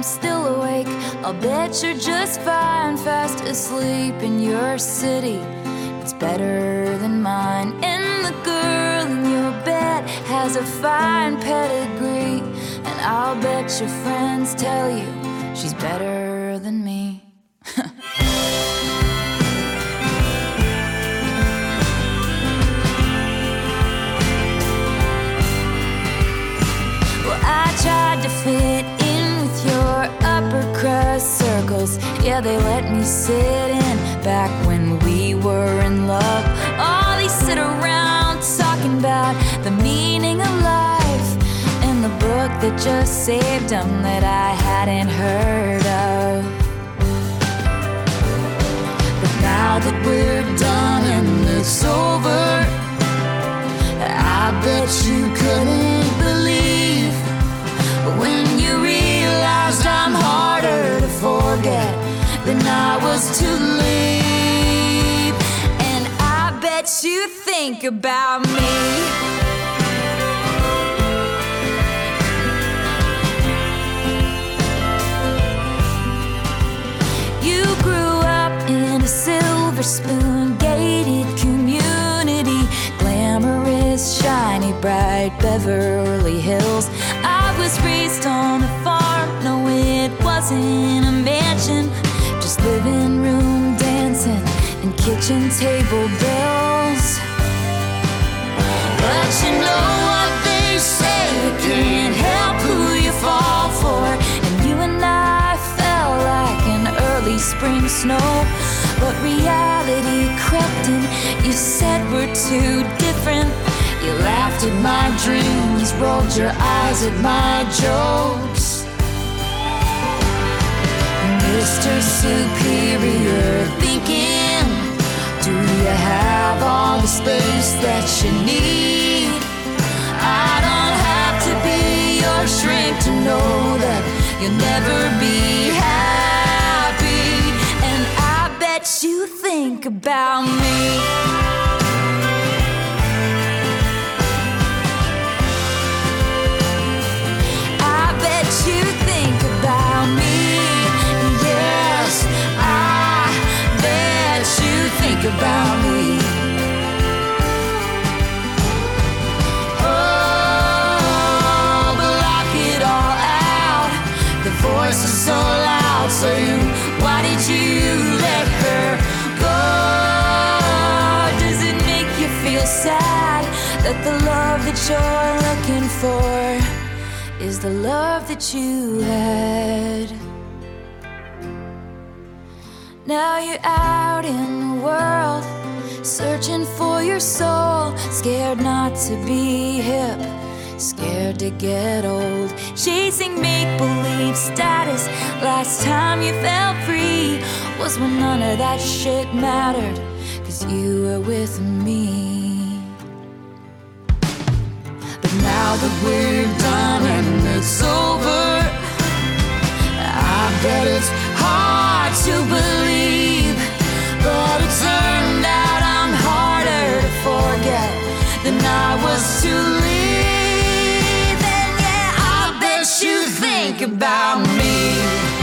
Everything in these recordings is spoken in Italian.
still awake. I'll bet you're just fine, fast asleep in your city. It's better than mine. And the girl in your bed has a fine pedigree, and I'll bet your friends tell you she's better than me. Well, I tried to fit in with your upper crust circles. Yeah, they let me sit in back when we were in love. Oh, they sit around talking about the meaning of life and the book that just saved them that I hadn't heard of. But now that we're done and it's over, I bet you couldn't believe when you realized I'm harder to forget than I was to leave. And I bet you think about me. You grew up in a silver spoon gated community, glamorous, shiny, bright Beverly Hills. I was raised on a farm, no it wasn't a mansion, just living room dancing and kitchen table bills. But you know what they say, you can't help who you fall for. And you and I fell like an early spring snow, but reality crept in. You said we're too different. You laughed at my dreams, rolled your eyes at my jokes. Mr. Superior thinking, do you have all the space that you need? I don't have to be your shrink to know that you'll never be happy. And I bet you think about me. You think about me, yes, I bet you think about me. Oh, but lock it all out. The voice is so loud saying, why did you let her go? Does it make you feel sad that the love that you're looking for is the love that you had? Now you're out in the world, searching for your soul, scared not to be hip, scared to get old, chasing make-believe status. Last time you felt free was when none of that shit mattered, 'cause you were with me. Now that we're done and it's over, I bet it's hard to believe, but it turned out I'm harder to forget than I was to leave. And yeah, I bet you think about me.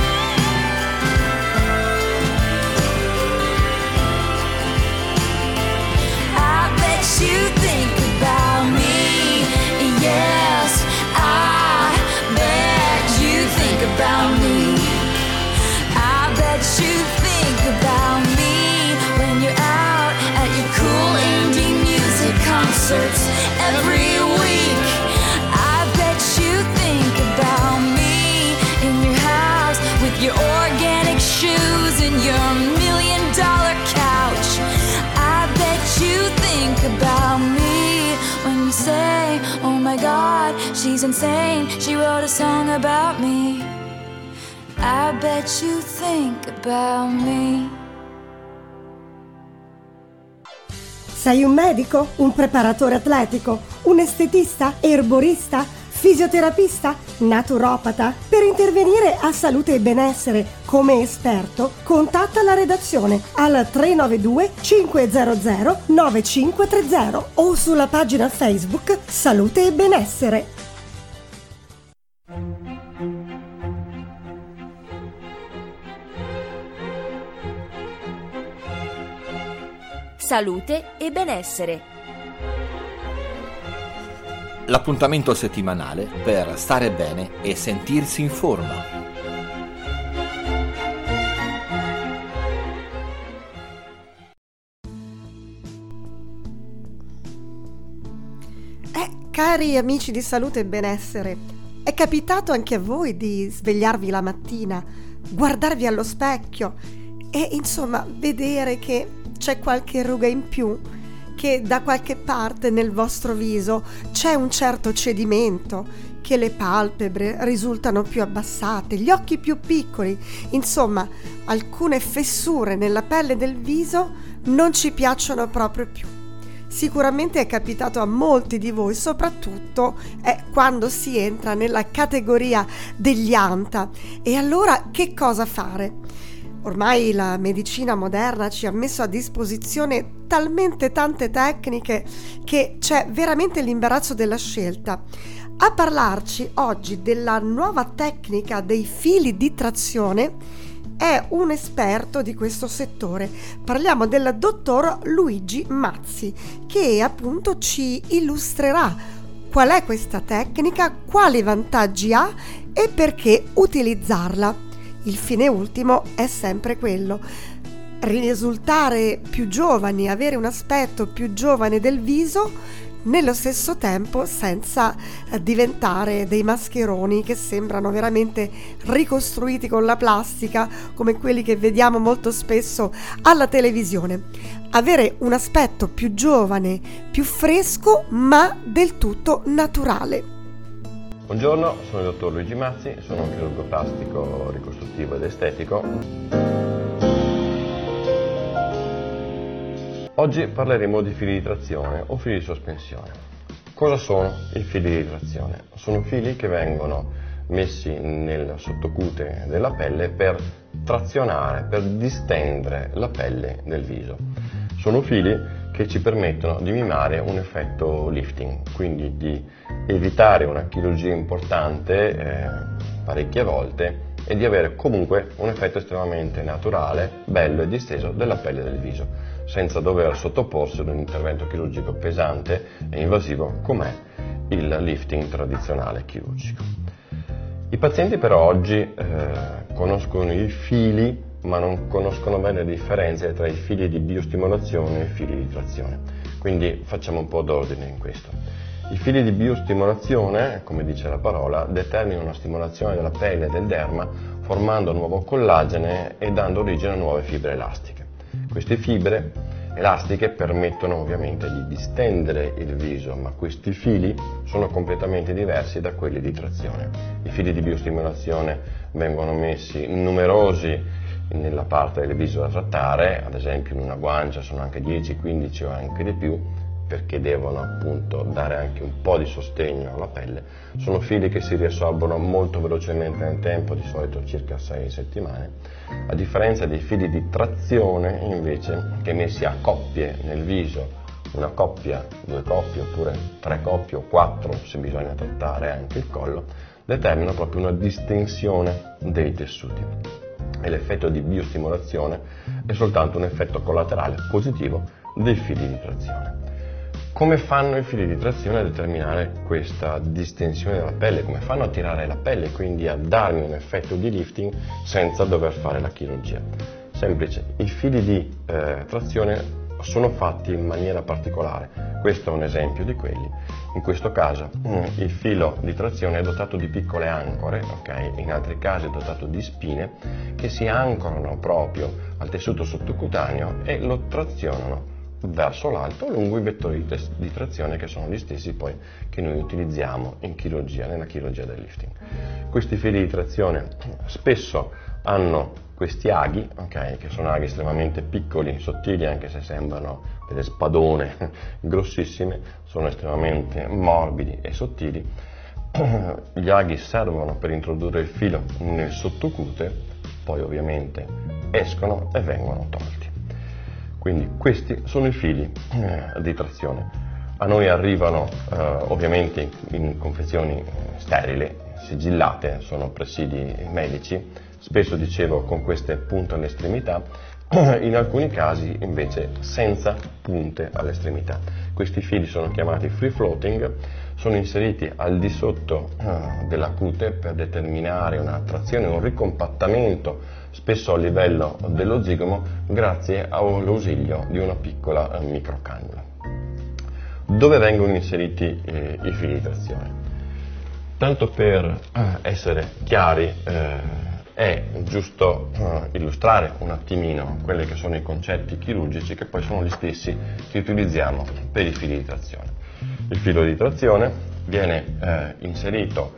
I bet you think about me. Yes, I bet you think about me. I bet you think about me when you're out at your cool indie music concerts every week. I bet you think about me in your house with your organic shoes and your $1 million couch. I bet you think about me when you say, oh my God, she's insane, she wrote a song about me. I bet you think about me. Sei un medico? Un preparatore atletico? Un estetista? Erborista? Fisioterapista? Naturopata? Per intervenire a Salute e Benessere come esperto, contatta la redazione al 392 500 9530 o sulla pagina Facebook Salute e Benessere. salute e benessere. L'appuntamento settimanale per stare bene e sentirsi in forma. Cari amici di salute e benessere, è capitato anche a voi di svegliarvi la mattina, guardarvi allo specchio e insomma vedere che c'è qualche ruga in più, che da qualche parte nel vostro viso c'è un certo cedimento, che le palpebre risultano più abbassate, gli occhi più piccoli, insomma alcune fessure nella pelle del viso non ci piacciono proprio più. Sicuramente è capitato a molti di voi, soprattutto quando si entra nella categoria degli anta. E allora che cosa fare? Ormai la medicina moderna ci ha messo a disposizione talmente tante tecniche che c'è veramente l'imbarazzo della scelta. A parlarci oggi della nuova tecnica dei fili di trazione è un esperto di questo settore. Parliamo del dottor Luigi Mazzi, che appunto ci illustrerà qual è questa tecnica, quali vantaggi ha e perché utilizzarla. Il fine ultimo è sempre quello: risultare più giovani, avere un aspetto più giovane del viso, nello stesso tempo senza diventare dei mascheroni che sembrano veramente ricostruiti con la plastica, come quelli che vediamo molto spesso alla televisione. Avere un aspetto più giovane, più fresco, ma del tutto naturale. Buongiorno, sono il dottor Luigi Mazzi, sono un chirurgo plastico, ricostruttivo ed estetico. Oggi parleremo di fili di trazione o fili di sospensione. Cosa sono i fili di trazione? Sono fili che vengono messi nel sottocute della pelle per trazionare, per distendere la pelle del viso. Sono fili che ci permettono di mimare un effetto lifting, quindi di evitare una chirurgia importante parecchie volte e di avere comunque un effetto estremamente naturale, bello e disteso della pelle del viso, senza dover sottoporsi ad un intervento chirurgico pesante e invasivo com'è il lifting tradizionale chirurgico. I pazienti però oggi conoscono i fili, ma non conoscono bene le differenze tra i fili di biostimolazione e i fili di trazione, quindi facciamo un po' d'ordine in questo. I fili di biostimolazione, come dice la parola, determinano una stimolazione della pelle e del derma formando nuovo collagene e dando origine a nuove fibre elastiche. Queste fibre elastiche permettono ovviamente di distendere il viso, ma questi fili sono completamente diversi da quelli di trazione. I fili di biostimolazione vengono messi numerosi nella parte del viso da trattare, ad esempio in una guancia sono anche 10, 15 o anche di più, perché devono appunto dare anche un po' di sostegno alla pelle. Sono fili che si riassorbono molto velocemente nel tempo, di solito circa 6 settimane, a differenza dei fili di trazione invece che messi a coppie nel viso, una coppia, 2 coppie oppure 3 coppie o 4 se bisogna trattare anche il collo, determinano proprio una distensione dei tessuti. E l'effetto di biostimolazione è soltanto un effetto collaterale positivo dei fili di trazione. Come fanno i fili di trazione a determinare questa distensione della pelle? Come fanno a tirare la pelle, quindi a darmi un effetto di lifting senza dover fare la chirurgia? Semplice, i fili di trazione sono fatti in maniera particolare. Questo è un esempio di quelli. In questo caso il filo di trazione è dotato di piccole ancore, okay? In altri casi è dotato di spine che si ancorano proprio al tessuto sottocutaneo e lo trazionano verso l'alto lungo i vettori di trazione che sono gli stessi poi che noi utilizziamo in chirurgia, nella chirurgia del lifting. Questi fili di trazione spesso hanno questi aghi, okay, che sono aghi estremamente piccoli, sottili, anche se sembrano delle spadone grossissime, sono estremamente morbidi e sottili. Gli aghi servono per introdurre il filo nel sottocute, poi ovviamente escono e vengono tolti. Quindi questi sono i fili di trazione. A noi arrivano ovviamente in confezioni sterili, sigillate, sono presidi medici, spesso dicevo con queste punte all'estremità in alcuni casi invece senza punte all'estremità. Questi fili sono chiamati free floating, sono inseriti al di sotto della cute per determinare una trazione, un ricompattamento spesso a livello dello zigomo grazie all'ausilio di una piccola microcannula. Dove vengono inseriti i fili di trazione? Tanto per essere chiari, è giusto illustrare un attimino quelli che sono i concetti chirurgici che poi sono gli stessi che utilizziamo per i fili di trazione. Il filo di trazione viene inserito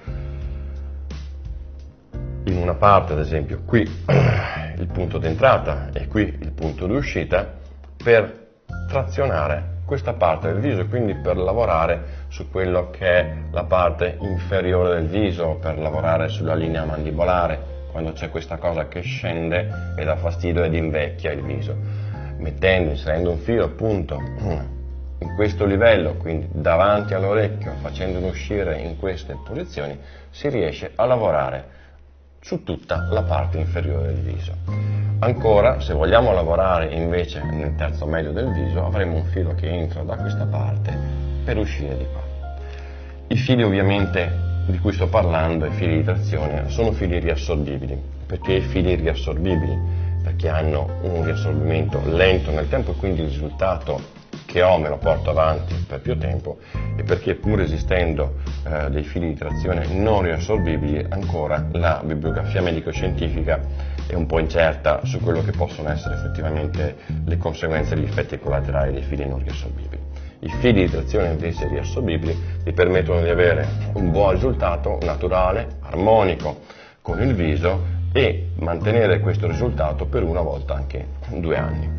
in una parte, ad esempio qui il punto d'entrata e qui il punto di uscita, per trazionare questa parte del viso, quindi per lavorare su quello che è la parte inferiore del viso, per lavorare sulla linea mandibolare, quando c'è questa cosa che scende e dà fastidio ed invecchia il viso. Inserendo un filo appunto in questo livello, quindi davanti all'orecchio, facendolo uscire in queste posizioni, si riesce a lavorare su tutta la parte inferiore del viso. Ancora, se vogliamo lavorare invece nel terzo medio del viso, avremo un filo che entra da questa parte per uscire di qua. I fili ovviamente di cui sto parlando, i fili di trazione, sono fili riassorbibili. Perché i fili riassorbibili? Perché hanno un riassorbimento lento nel tempo e quindi il risultato che ho me lo porto avanti per più tempo, e perché pur esistendo dei fili di trazione non riassorbibili, ancora la bibliografia medico-scientifica è un po' incerta su quello che possono essere effettivamente le conseguenze degli effetti collaterali dei fili non riassorbibili. I fili di trazione invece riassorbibili vi permettono di avere un buon risultato naturale, armonico con il viso e mantenere questo risultato per una volta anche 2 anni.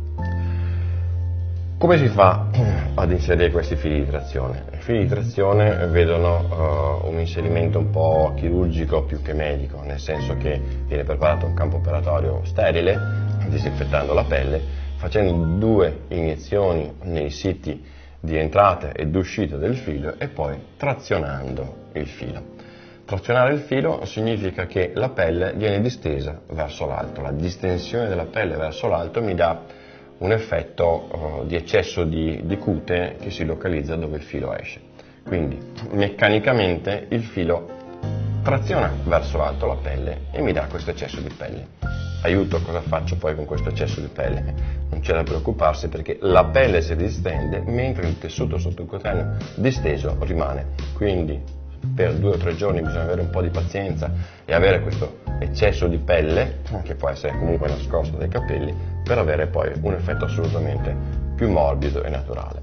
Come si fa ad inserire questi fili di trazione? I fili di trazione vedono un inserimento un po' chirurgico più che medico, nel senso che viene preparato un campo operatorio sterile, disinfettando la pelle, facendo 2 iniezioni nei siti di entrata ed uscita del filo e poi trazionando il filo. Trazionare il filo significa che la pelle viene distesa verso l'alto. La distensione della pelle verso l'alto mi dà un effetto di eccesso di cute che si localizza dove il filo esce. Quindi meccanicamente il filo traziona verso l'alto la pelle e mi dà questo eccesso di pelle. Aiuto, cosa faccio poi con questo eccesso di pelle? Non c'è da preoccuparsi perché la pelle si distende mentre il tessuto sottocutaneo disteso rimane. Quindi per 2 o 3 giorni bisogna avere un po' di pazienza e avere questo eccesso di pelle, che può essere comunque nascosto dai capelli, per avere poi un effetto assolutamente più morbido e naturale.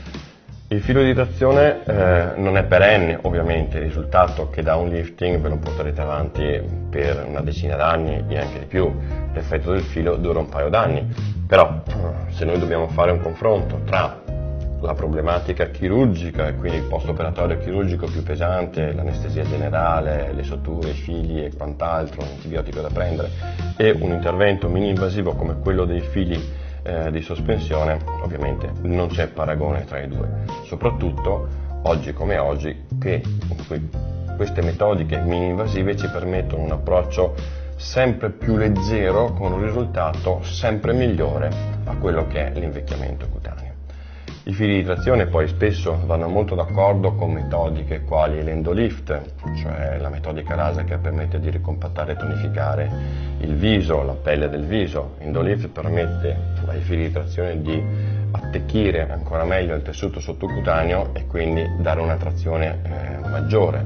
Il filo di trazione non è perenne, ovviamente. Il risultato che dà un lifting ve lo porterete avanti per una decina d'anni e anche di più. L'effetto del filo dura un paio d'anni, però se noi dobbiamo fare un confronto tra la problematica chirurgica e quindi il post-operatorio chirurgico più pesante, l'anestesia generale, le suture, i fili e quant'altro, l'antibiotico da prendere, e un intervento mini-invasivo come quello dei fili di sospensione, ovviamente non c'è paragone tra i due. Soprattutto oggi come oggi, che queste metodiche mini-invasive ci permettono un approccio sempre più leggero con un risultato sempre migliore a quello che è l'invecchiamento cutaneo. I fili di trazione poi spesso vanno molto d'accordo con metodiche quali l'endolift, cioè la metodica laser che permette di ricompattare e tonificare il viso, la pelle del viso. Endolift permette ai fili di trazione di attecchire ancora meglio il tessuto sottocutaneo e quindi dare una trazione maggiore.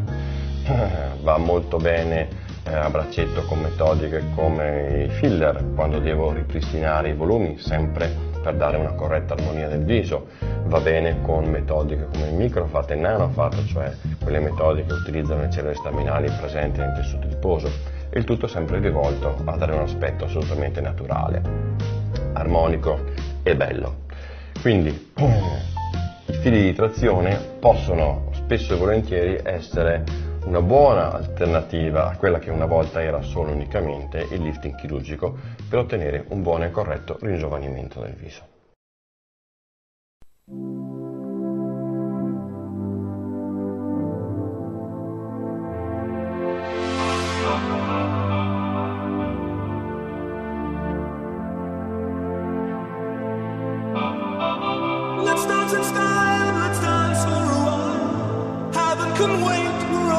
Va molto bene a braccetto con metodiche come i filler, quando devo ripristinare i volumi, sempre per dare una corretta armonia del viso. Va bene con metodiche come il microfat e il nanofat, cioè quelle metodiche che utilizzano le cellule staminali presenti nel tessuto adiposo, e il tutto sempre rivolto a dare un aspetto assolutamente naturale, armonico e bello. Quindi i fili di trazione possono spesso e volentieri essere una buona alternativa a quella che una volta era solo unicamente il lifting chirurgico per ottenere un buono e corretto ringiovanimento del viso.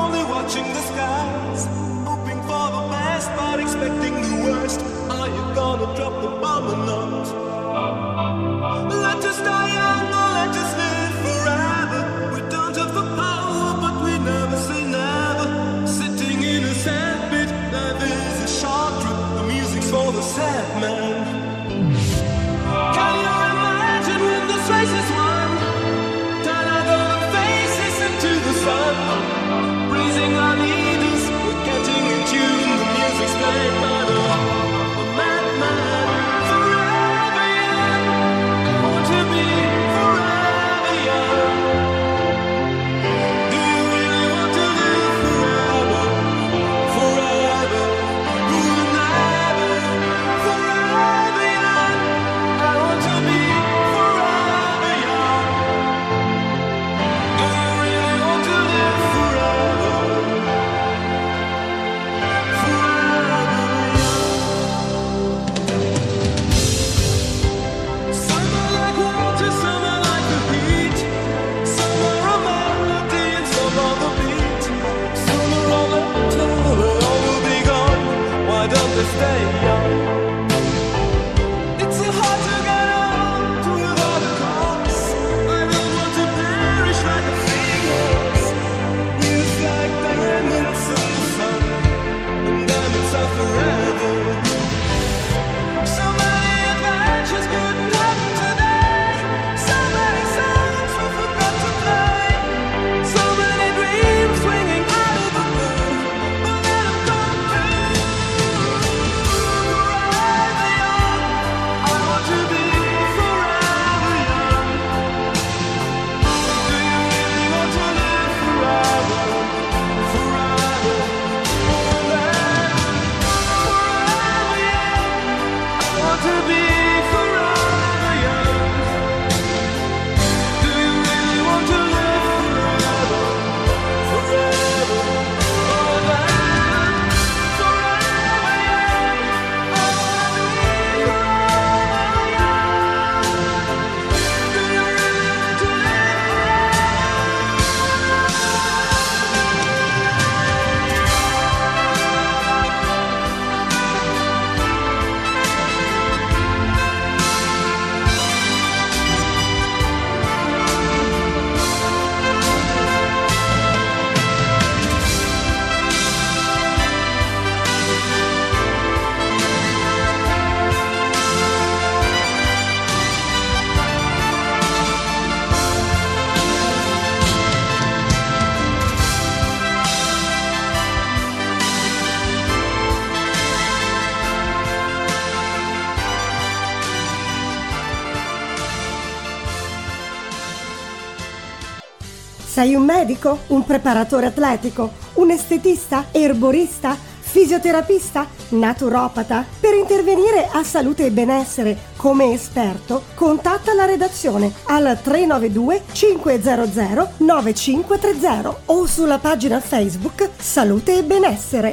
only watching the skies, hoping for the best but expecting the worst. Are you gonna drop the bomb or not? Let us die young or let us live forever. We don't have the power but we never say never. Sitting in a sandpit, life is a short trip. The music's for the sad man. Can you imagine when this race is won? Turn our golden faces into the sun, praising our leaders, we're getting in tune. The music's played by the madman. Forever young, I want to be forever young. Do you really want to live forever? Forever, never. Forever young, I want to be forever young. Do you really want to live forever? Forever young. Some are like water, some are like the heat. Some are a melody and some are the beat. Some are all eternal, but all will be gone. Why don't they stay young? It's so hard to get old without a cause. I don't want to perish like a phoenix. Youth like diamonds in the sun, and diamonds are forever. So many adventures couldn't happen today. So many songs we forgot to play. So many dreams swinging out of the blue, but let them come true. Forever young, I want to be forever young. Do you really want to live forever? Forever, forever, forever young. I want to be forever young. Do you really want to live forever? Forever, forever, forever young. I want to be forever young. Do you really want to live Sei un medico? Un preparatore atletico? Un estetista? Erborista? Fisioterapista? Naturopata? Per intervenire a salute e benessere come esperto, contatta la redazione al 392 500 9530 o sulla pagina Facebook Salute e Benessere.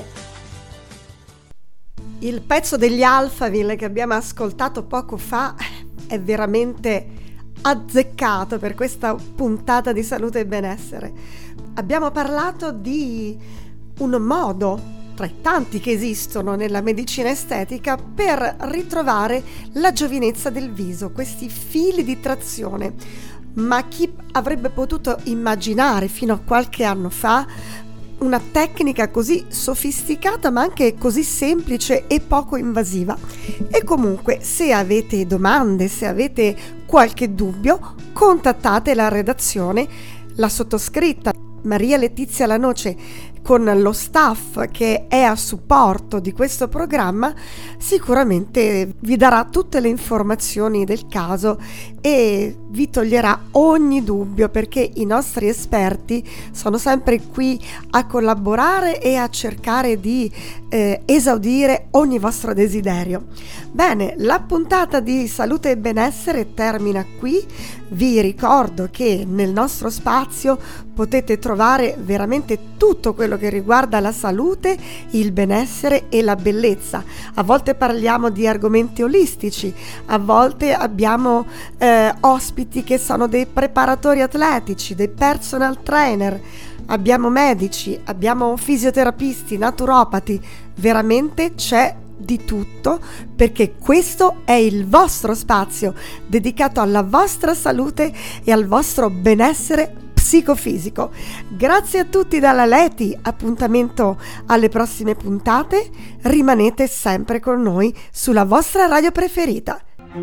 Il pezzo degli Alphaville che abbiamo ascoltato poco fa è veramente azzeccato per questa puntata di Salute e Benessere. Abbiamo parlato di un modo tra i tanti che esistono nella medicina estetica per ritrovare la giovinezza del viso, questi fili di trazione. Ma chi avrebbe potuto immaginare fino a qualche anno fa una tecnica così sofisticata ma anche così semplice e poco invasiva? E comunque, se avete domande, se avete qualche dubbio, contattate la redazione, la sottoscritta Maria Letizia Lanoce con lo staff che è a supporto di questo programma. Sicuramente vi darà tutte le informazioni del caso e vi toglierà ogni dubbio, perché i nostri esperti sono sempre qui a collaborare e a cercare di esaudire ogni vostro desiderio. Bene, la puntata di Salute e Benessere termina qui. Vi ricordo che nel nostro spazio potete trovare veramente tutto quello che riguarda la salute, il benessere e la bellezza. A volte parliamo di argomenti olistici, a volte abbiamo ospiti che sono dei preparatori atletici, dei personal trainer. abbiamo medici, abbiamo fisioterapisti, naturopati, veramente c'è di tutto, perché questo è il vostro spazio dedicato alla vostra salute e al vostro benessere psicofisico. Grazie a tutti dalla Leti, appuntamento alle prossime puntate, rimanete sempre con noi sulla vostra radio preferita.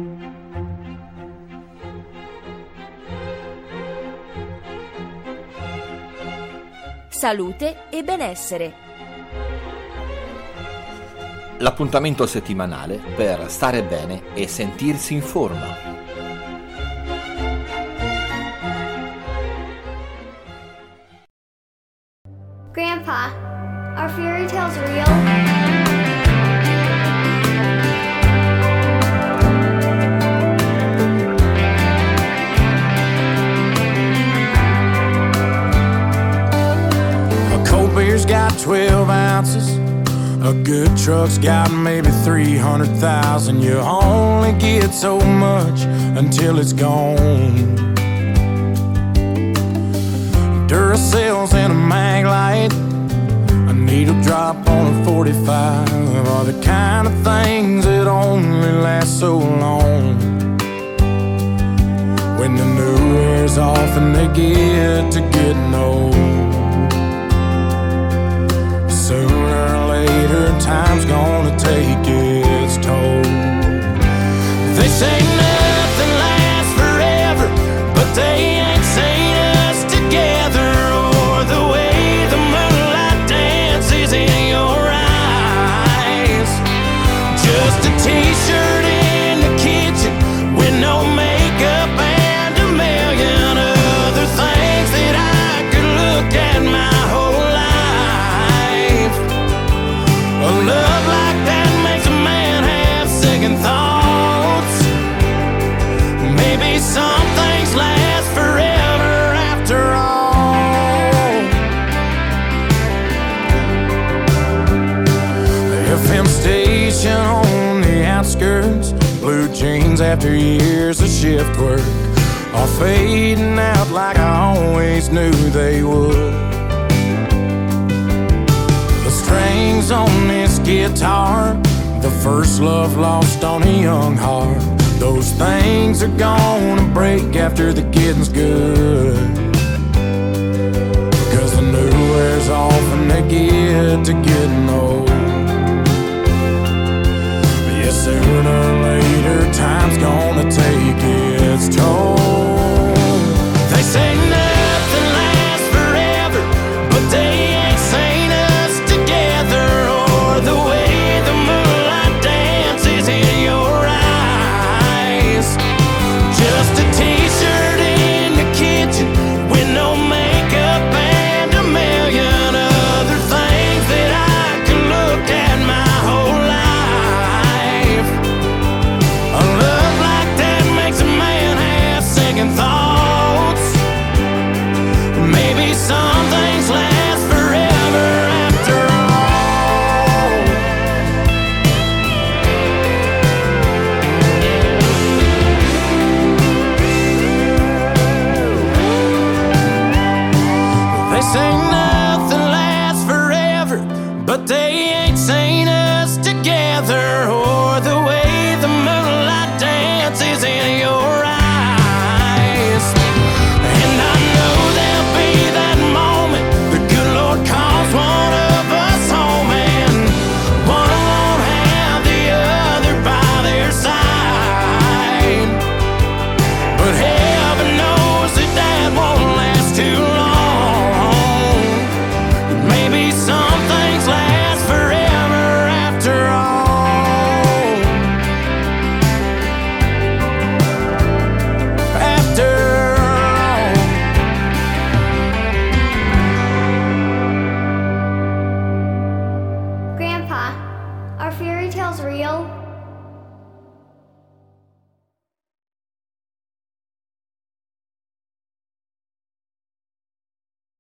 Salute e benessere. L'appuntamento settimanale per stare bene e sentirsi in forma. Grandpa, are fairy tales real? Beer's got 12 ounces. A good truck's got maybe 300,000. You only get so much until it's gone. Duracell's in a mag light, a needle drop on a 45 are the kind of things that only last so long. When the new wears off and they get to getting old, sooner or later, time's gonna take its toll. They say nothing lasts forever, but they ain't seen us together, or the way the moonlight dances in your eyes. Just a t-shirt in the kitchen with no makeup and a million other things that I could look at my whole life. A love like that makes a man have second thoughts. Maybe some things last forever after all. The FM station on the outskirts, blue jeans after years of shift work, are fading out like I always knew they would. Strings on this guitar, the first love lost on a young heart. Those things are gonna break after the getting's good, because the new wears off and they get to getting old. But yeah, sooner or later, time's gonna take its toll. They say nothing lasts forever, but they ain't seen us together, or the way the moonlight dances in your eyes. Just a t-shirt in the kitchen with no makeup and a million other things that I could look at my whole life. A love like that makes a man have second thoughts. Maybe some things last forever after all. They say nothing lasts forever, but they